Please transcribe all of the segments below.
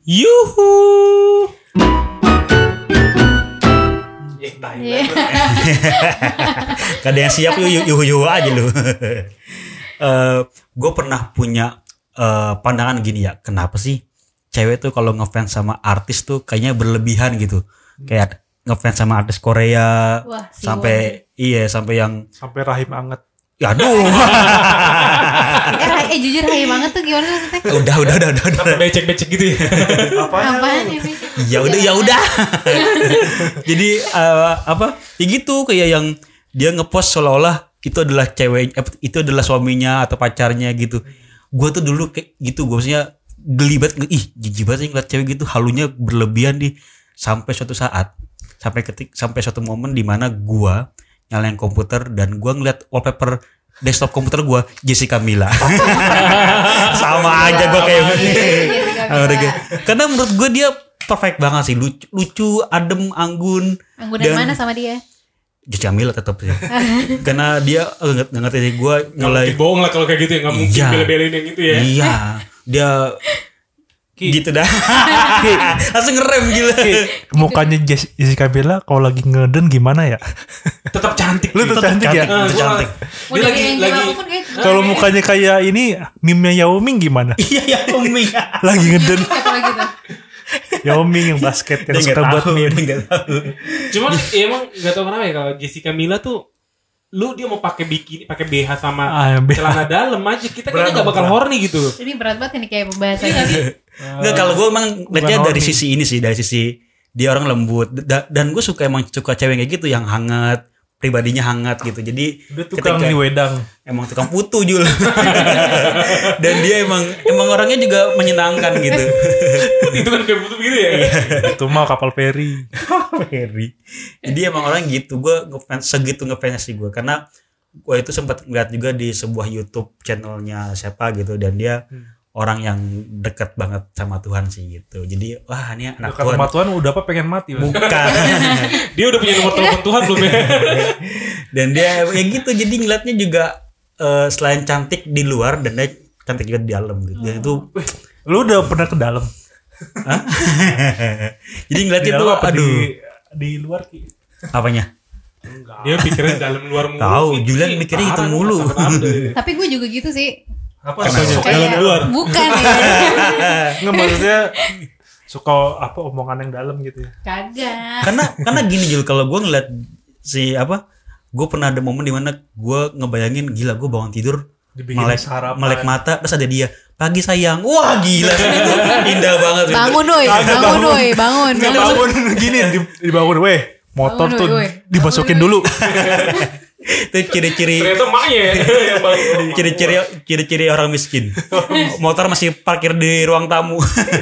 Yuhu. Gak ada yang siap yuhu aja lu. Gue pernah punya pandangan gini ya. Kenapa sih cewek tuh kalau ngefans sama artis tuh kayaknya berlebihan gitu. Kayak ngefans sama artis Korea. Wah, sampai sampai yang sampai rahim anget. Ya aduh. Jujur hai banget tuh gimana maksudnya? Udah. Becek-becek gitu ya. Apaan ya? Ya udah. Jadi ya gitu kayak yang dia ngepost seolah-olah itu adalah cewek, itu adalah suaminya atau pacarnya gitu. Gue tuh dulu kayak gitu, gue maksudnya geli banget, jijik banget ngeliat cewek gitu, halunya berlebihan sampai suatu saat, sampai suatu momen di mana gue nyalain komputer dan gue ngeliat wallpaper desktop komputer gue Jessica Mila. Sama aja gue kayak karena menurut gue dia perfect banget sih, lucu, adem, anggun. Anggunan mana sama dia? Jessica Mila tetap sih. Karena dia nggak ngerti sih, gue mulai bohong lah kalau kayak gitu ya, nggak mungkin bela-belain yang gitu ya. Iya, dia gitu dah. Langsung ngerem gila. Mukanya Jessica Mila kalau lagi ngeden gimana ya? Tetap cantik. Lu tetap cantik ya? Cantik. Dia lagi kalau mukanya kayak ini meme-nya Yao Ming gimana? Iya, Yao Ming. Lagi ngeden. Siapa lagi tuh? Yao Ming yang basket yang suka buat meme. Cuman emang nggak tahu kenapa ya kalau Jessica Mila tuh, dia mau pakai bikini, pakai BH sama celana dalam aja, kita kayaknya nggak bakal horny gitu. Ini berat banget ini kayak pembahasannya. Enggak, kalau gue emang lihatnya dari sisi ini sih, dari sisi dia orang lembut dan gue suka cewek kayak gitu yang hangat, pribadinya hangat gitu. Jadi dia tukang di wedang, emang tukang putu Jul. Dan dia emang orangnya juga menyenangkan gitu. Itu kan kayak putu gitu ya. Itu mah kapal feri. Jadi emang orang gitu. Gue ngefans sih gue, karena gue itu sempat ngeliat juga di sebuah YouTube channelnya siapa gitu, dan dia orang yang dekat banget sama Tuhan sih gitu. Jadi wah ini anak dekat Tuhan. sama Tuhan udah apa pengen mati? Bukan. Dia udah punya nomor telepon Tuhan belum ya? Dan dia ya gitu, jadi ngeliatnya juga selain cantik di luar dan dia cantik juga di dalam gitu. Dan itu lu udah pernah ke dalam? Jadi ngeliatnya tuh aduh di luar Ki. Apanya? Enggak. Dia pikirin dalam luar mulu. Tahu, Julian mikirnya itu mulu. Tapi gue juga gitu sih. Apa dalam luar? Bukan ya. Nggak, maksudnya suka apa omongan yang dalam gitu ya? Kagak. Karena gini Jul, kalau gue ngeliat gue pernah ada momen dimana gue ngebayangin gila gue bangun tidur melek mata terus ada dia, pagi sayang, wah gila itu indah banget. Bangun gini dibangun motor bangun, tuh dimasukin dulu. Itu ciri-ciri ternyata maknya yang paling ciri-ciri orang miskin. Motor masih parkir di ruang tamu.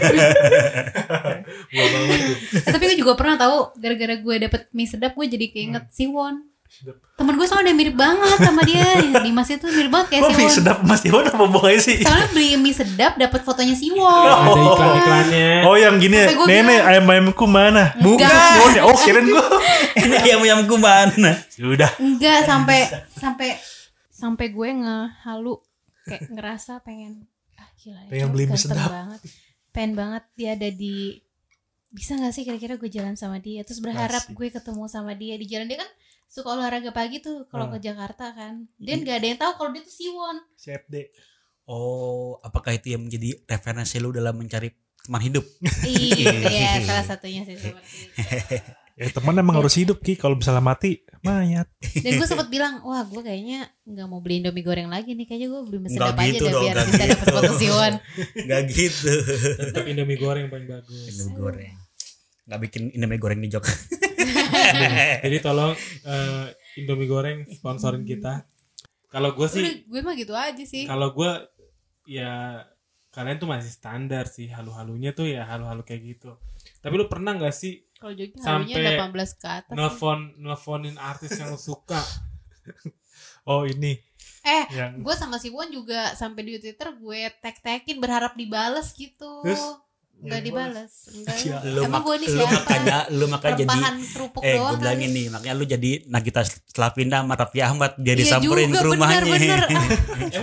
Tapi gue juga pernah tahu, gara-gara gue dapet mie sedap gue jadi keinget Siwon. Temen gue soalnya mirip banget sama dia. Dimas itu mirip banget kayak Siwon. Mie sedap Mas Siwon apa bohongnya sih? Soalnya beli mie sedap dapet fotonya Siwon. ada iklan-iklannya. Oh yang gini ya, nenek ayam-ayamku mana? Bukan. Oh kirain gue. Ini ayam-ayamku mana? Sudah. Enggak, sampai gue ngehalu kayak ngerasa pengen gila ya, pengen beli mie sedap banget. Pengen banget dia ada di, bisa gak sih kira-kira gue jalan sama dia, terus berharap gue ketemu sama dia di jalan. Dia kan suka olahraga pagi tuh kalau ke Jakarta kan. Dia gak ada yang tahu kalau dia tuh Siwon. CFD. Oh, apakah itu yang menjadi referensi lu dalam mencari teman hidup? Iya, salah satunya sih seperti itu. Ya teman emang harus hidup Ki, kalau misalnya mati mayat. Dan gue sempet bilang, wah gue kayaknya gak mau beli Indomie goreng lagi nih, kayaknya gue beli mie Nggak sedap aja gitu deh dong, biar nggak bisa dapet gitu. foto Siwon. Gak gitu. Tetap Indomie goreng yang paling bagus. Indomie goreng. Gak bikin Indomie goreng di jok. Jadi tolong Indomie goreng sponsorin kita. Kalau gue sih, Gue mah gitu aja sih. kalau gue ya kalian tuh masih standar sih, halu-halunya tuh ya halu-halu kayak gitu. Tapi lu pernah nggak sih Kalau jogging sampai halunya 18 ke atas. nelfonin artis yang lu suka? Oh ini. Yang- Gue sama Siwon juga sampai di Twitter gue tag-tagin berharap dibales gitu. Terus? Enggak dibales. Enggak. Ya, Emang gue nih lu siapa? makanya jadi Rempahan kerupuk gue doang bilangin kali. nih, makanya lu jadi Nagita Slavina sama Raffi Ahmad biar Iya disamperin juga, ke rumahnya. bener. Emang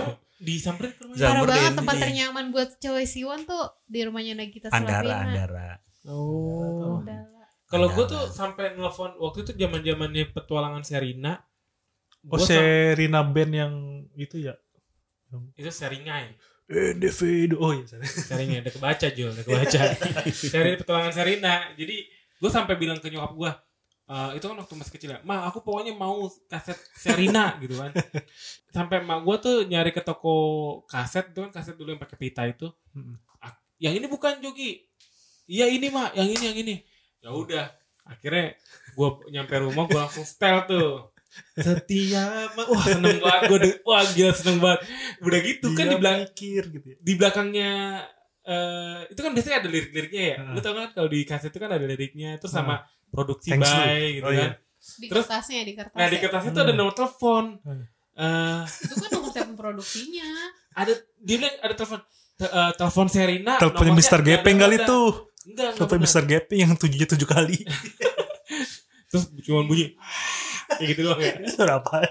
disamperin ke rumahnya. Parah Samperin, banget tempat iya. ternyaman buat cewek Siwon tuh di rumahnya Nagita Andara. Slavina. Oh. Kalau gue Ada. tuh sampai nelfon waktu itu zaman-zamannya petualangan Serina. Oh, Gua Serina band yang itu ya. itu Seringai. Individu. Oh iya, sorry. Seringai udah kebaca Jul, udah kebaca. Seri petualangan Serina. Jadi gue sampai bilang ke nyokap gue, itu kan waktu masih kecil ya, "Ma, aku pokoknya mau kaset Serina," gitu kan. Sampai mak gue tuh nyari ke toko kaset, itu kan kaset dulu yang pakai pita itu. Yang ini bukan Jogi. Iya ini Mak, yang ini. Ya udah, akhirnya gue nyampe rumah gue langsung setel tuh. Setia wah seneng banget gue, wah gila seneng banget. Udah gitu kan gitu ya. di belakangnya itu kan biasanya ada lirik-liriknya ya. Lu tau kan kalau di kaset itu kan ada liriknya terus sama produksi Thanks by lu. gitu Oh, kan. iya. Di Terus- kertasnya, di kertasnya. Nah di kertas itu ada nomor telepon. Itu kan nomor telepon produksinya. Ada dia bilang ada telepon Serina. Teleponnya nomornya Mr. Gepeng nggak kali ada. tuh. Enggak Telepon benar. Mr. Gepeng yang 7 kali. Terus cuma bunyi kayak gitu doang ya. Suara apaan?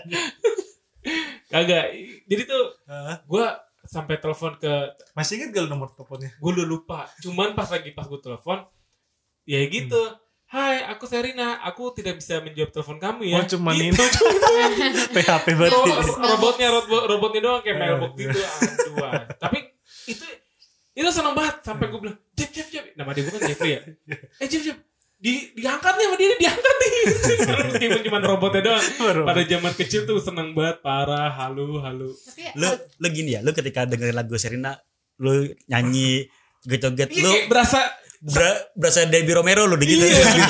Kagak. Jadi tuh Hah? gue sampai telepon ke, Masih ingat gak lu nomor teleponnya? gue udah lupa. Cuman pas gue telepon, ya gitu. Hai, aku Serina. Aku tidak bisa menjawab telepon kamu ya. Oh, cuman gitu. ini. PHP banget. Robotnya doang kayak mailbox gitu. Aduh. Tapi itu seneng banget sampai gue bilang, Jeff. Nama dia bukan Jeffrey ya. Jeff. Diangkat nih sama dia, diangkat nih. Meskipun cuma robotnya doang. Pada zaman kecil tuh seneng banget, parah, halu. Tapi Lu gini ya, lu ketika dengerin lagu Serina, lu nyanyi joget-joget, Iya lu kayak berasa Debbie Romero lu gitu.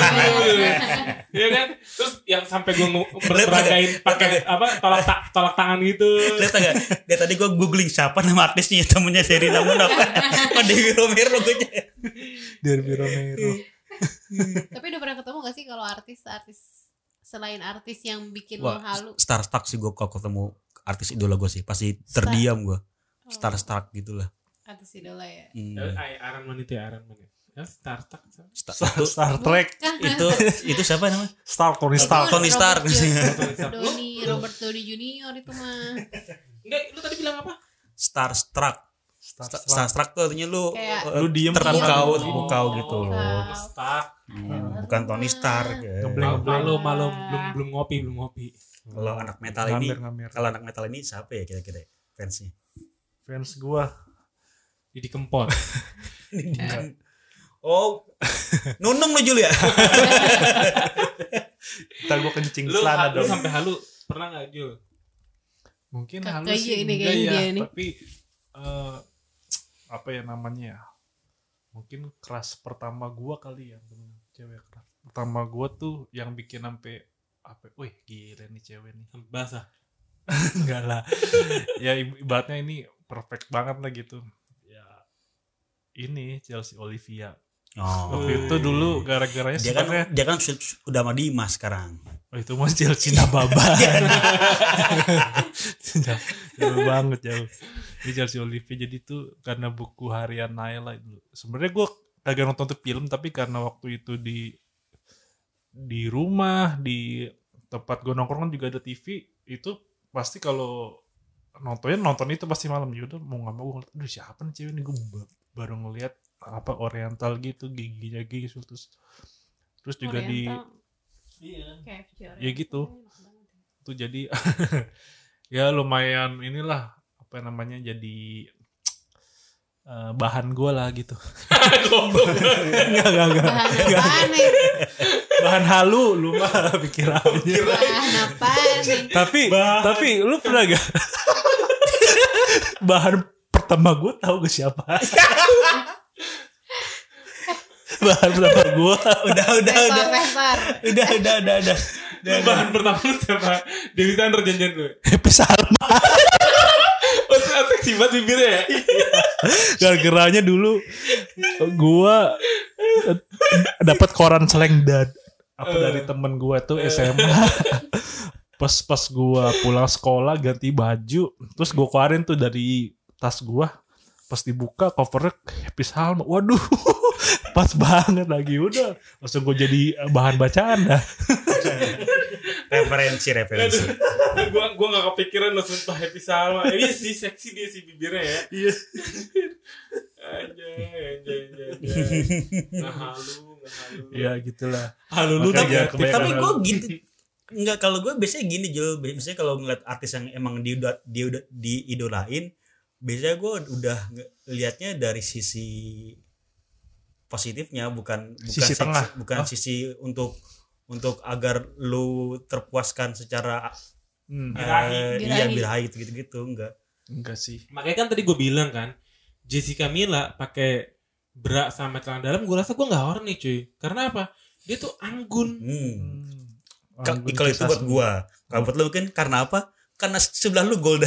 Iya kan? Terus yang sampai gue meragain pakai apa tolak tangan gitu. Lihat gak? Dia tadi gue googling siapa nama artisnya, temennya Serina Munaf. Sama Debbie Romero gue. Derby Romero. Tapi udah pernah ketemu gak sih kalau artis selain artis yang bikin lo Wah, halu? starstruck sih gue kalau ketemu artis idola gue sih, pasti terdiam gue. Starstruck gitulah. Artis idola ya. Iron Man itu ya, Iron Man. Ya, Startup. Star Trek. Itu siapa namanya? Tony Stark. Tony Stark. Robert Downey Junior itu mah. Enggak, lu tadi bilang apa? Starstruck. Starstruck tuh artinya lu Kayak- Lu diem terpukau kan? gitu. Stark. Bukan Tony Stark. ya. Malum belum ngopi. Kalau anak metal ini, Ngamer. kalau anak metal ini siapa ya kira-kira fansnya? Fans gua. Jadi kempot. Oh, nunung lu Jul ya? Ntar gua kencing Lu celana dong. sampai halu pernah enggak, Jul? Mungkin Kakak halus aja sih ini enggak kayaknya ya, dia nih. tapi apa ya namanya ya? Mungkin keras pertama gua kali ya, temen cewek keras. Pertama gua tuh yang bikin sampai apa? Wih, gila nih cewek nih. Basah. Enggak lah. Ya ibaratnya ini perfect banget lah gitu. Ya ini Chelsea Olivia. Oh. Waktu itu dulu gara-garanya Dia kan udah sama Dimas sekarang. oh itu mah Chelsea Nababa. Jauh banget jauh. Ini Chelsea Olivia jadi tuh karena buku harian Naila dulu. Sebenarnya gue kagak nonton tuh film tapi karena waktu itu di rumah di tempat gue nongkrong kan juga ada TV itu pasti kalau nonton itu pasti malam juga mau nggak mau gue ngeliat, aduh siapa nih cewek ini gue baru ngeliat apa oriental gitu giginya gitu terus juga Oriental. Iya. KFC Oriental. ya gitu tuh jadi ya lumayan inilah apa namanya jadi bahan gue lah gitu. Enggak. Bahan apaan nih? Bahan halu lu mah pikir aja. Bahan apaan nih? Tapi lu pernah gak bahan pertama gue tahu gak siapa? Bahan pertama gue Udah. Profesor. Udah. Bahan pertama lu siapa? Dewi Sandra janjian lu. Happy Salma. Oh, seksi banget bibirnya ya. Gara-garanya dulu gue dapat koran selengdad dari temen gue tuh SMA. Pas gue pulang sekolah ganti baju, terus gue keluarin tuh dari tas gue. Pas dibuka covernya Happy Salma. Waduh, pas banget lagi udah. Langsung gue jadi bahan bacaan dah. referensi. Gua gak kepikiran lo sumpah Happy Salma. Iya sih seksi dia sih bibirnya ya. Iya. Anjay. Nggak halu. Ya gitulah. Halu lu Makanya tapi kebanyakan Tapi gue halu. gitu. Enggak, kalau gue biasanya gini Jul. Biasanya kalau ngeliat artis yang emang dia udah diidolain, biasanya gue udah liatnya dari sisi positifnya, bukan Sisi tengah. bukan sisi untuk agar lu terpuaskan secara birahi gitu enggak sih. makanya kan tadi gue bilang kan Jessica Mila pakai bra sama celana dalam, gue rasa gue nggak horny cuy. Karena apa? Dia tuh anggun. Kalau itu buat gua, kalau buat lu kan karena apa? Karena sebelah lu Golda.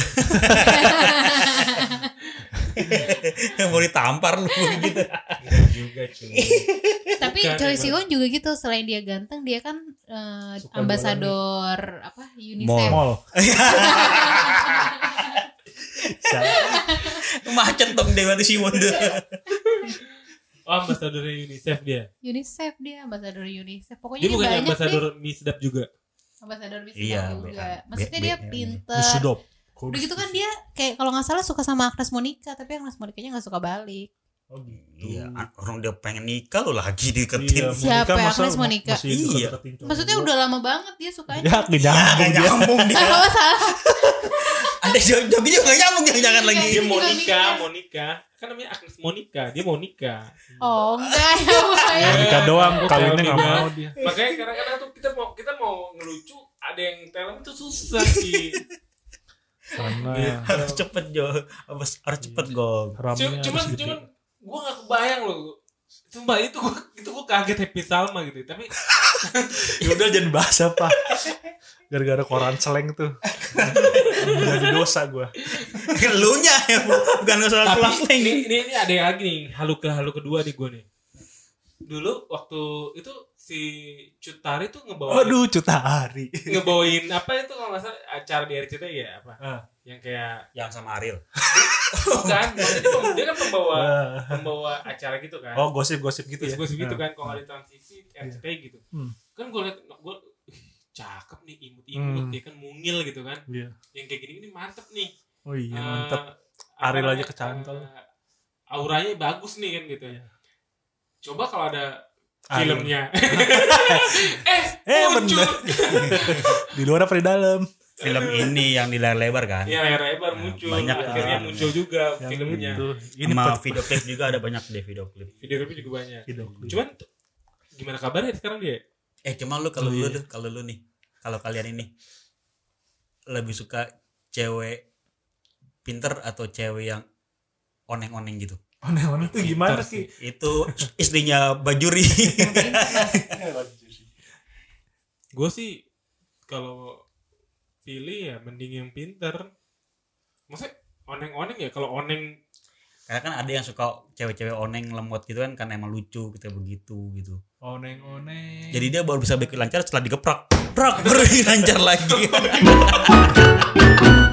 Mau ditampar lu gitu. Juga cuy. Tapi Bukan, Choi emang. Siwon juga gitu, selain dia ganteng dia kan ambasador apa UNICEF. Mall. Macet dong Dewa Simon tuh. Oh, ambasador UNICEF dia. UNICEF dia ambasador UNICEF. Pokoknya Dia dia bukan banyak ambasador deh. mie sedap juga. Ambasador bisa Iya, juga. BH. Maksudnya dia BH. pinter. Sedap. Udah gitu kan dia kayak kalau nggak salah suka sama Agnes Monica, tapi Agnes Monicanya nggak suka balik. Oh gitu. Iya, orang dia pengen nikah lo lagi deketin. Siapa ya, Agnes Monica? Iya. Maksudnya udah lama banget dia sukanya. Ya Gak nyambung dia. Oh salah. Ada jogi juga gak nyambung jangan lagi. Dia Juga Monica. Kan namanya Agnes Monica. Dia Monica. Oh enggak ya. Monica doang, kawinnya nggak Monica. mau dia. Makanya kadang-kadang tuh kita mau ngelucu, ada yang talent itu susah sih. Karena Harus cepet Jo. Harus cepet Gong. ramnya Cuman gue gak kebayang loh. Sumpah itu gue kaget Happy Salma gitu. Tapi ya udah jangan bahas apa. Gara-gara koran seleng tuh. Jadi dosa gue. Elunya ya, bukan soal tapi kelas lain. ini ada yang lagi nih, halu kedua nih gue nih. Dulu waktu itu si Cut Tari tuh Aduh, Cutahari. ngebawain apa itu kalau nggak salah acara di RCTI ya apa? Yang kayak Yang sama Ariel. bukan, maksudnya dia kan pembawa acara gitu kan. Oh, gosip-gosip gitu ya. Gosip gitu kan, kalau ada transisi RCTI gitu. Kan gue liat, cakep nih, imut-imut, dia kan mungil gitu kan. Iya. Yang kayak gini ini mantep nih. Oh iya, Eh, mantap. apa Ariel aja namanya, kecantol. Auranya bagus nih kan gitu. Iya. Coba kalau ada Ariel. filmnya. Bener. Di luar apa di dalam? Film ini yang di layar lebar kan. Iya, layar lebar muncul. banyak Akhirnya ya. muncul juga Yang filmnya. itu. Ini Sama per- video klip juga ada banyak deh video klip. Video klipnya juga banyak. video klip. Cuman gimana kabarnya sekarang dia? Cuma lu kalau Oh, iya. kalau lu nih, kalau kalian ini lebih suka cewek pinter atau cewek yang oneng-oneng gitu? Aneh-aneh tuh gimana sih? Itu istrinya Bajuri. Gue sih kalau pilih ya mending yang pinter. Maksudnya oneng-oneng ya, kalau oneng Karena kan ada yang suka cewek-cewek oneng lemot gitu kan karena emang lucu kita begitu gitu. Oneng-oneng. Jadi dia baru bisa bikin lancar setelah digeprak. Prak baru lancar lagi.